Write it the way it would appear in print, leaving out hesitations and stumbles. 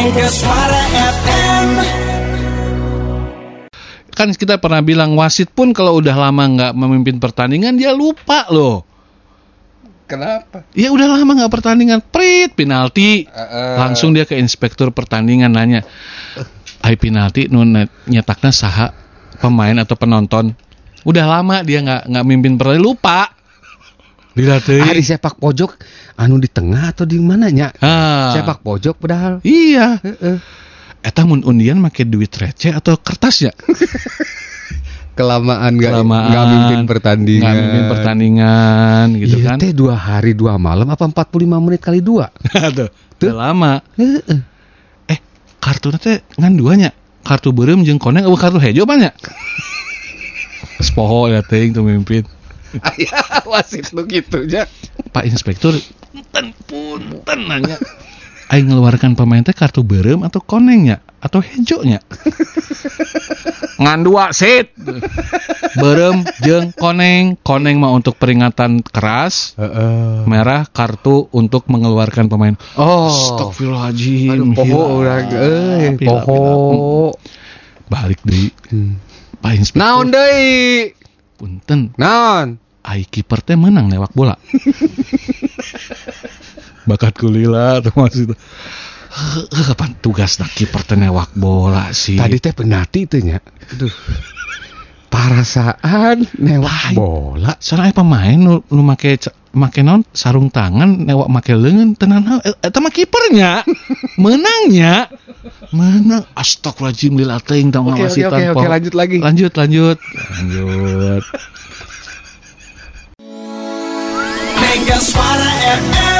Mega Suara FM. Kan kita pernah bilang wasit pun kalau udah lama nggak memimpin pertandingan dia lupa loh. Kenapa? Ya udah lama nggak pertandingan, prit penalti, langsung dia ke inspektur pertandingan nanya, ai penalti nu nyetakna saha pemain atau penonton. Udah lama dia nggak mimpin pertandingan, lupa. Dilatih. Di sepak pojok, anu di tengah atau di mananya? Sepak pojok padahal. Iya. Eta mun undian make duit receh atau kertasnya? Kelamaan nggak mimpin pertandingan. Nggak mimpin pertandingan gitu iya, kan. Teh 2 hari 2 malam apa 45 menit kali 2? Tuh, udah lama. Kartu teh ngan duanya. Kartu beureum jeung koneng eueuh kartu hejo banyak. Sepoho ya teuing tuh mimpin. Aya wasit lu gitu nya. Pak Inspektur, punten nanya. Aing ngeluarkan pemain teh kartu beureum atau konengnya atau hejonya? Ngan dua sit. Beureum jeung koneng mah untuk peringatan keras. Merah kartu untuk mengeluarkan pemain. Astagfirullahaladzim. Poho urang poho. Balik deui. Pak Inspektur. Naon deui? Punten. Naon? Ai kiper teh menang newak bola. Bakat kulila tuh maksud. Kapan tugas nak kiper teh newak bola sih? Tadi teh penalti teh nya. Aduh. Parasaan newak bola. Soalnya pemain nu make naon sarung tangan newak make leungeun tenan eta mah kipernya. Menang. Astagfirullahaladzim lila teuing tong ngawasitan. Oke, lanjut lagi. Lanjut. Mega Suara FM.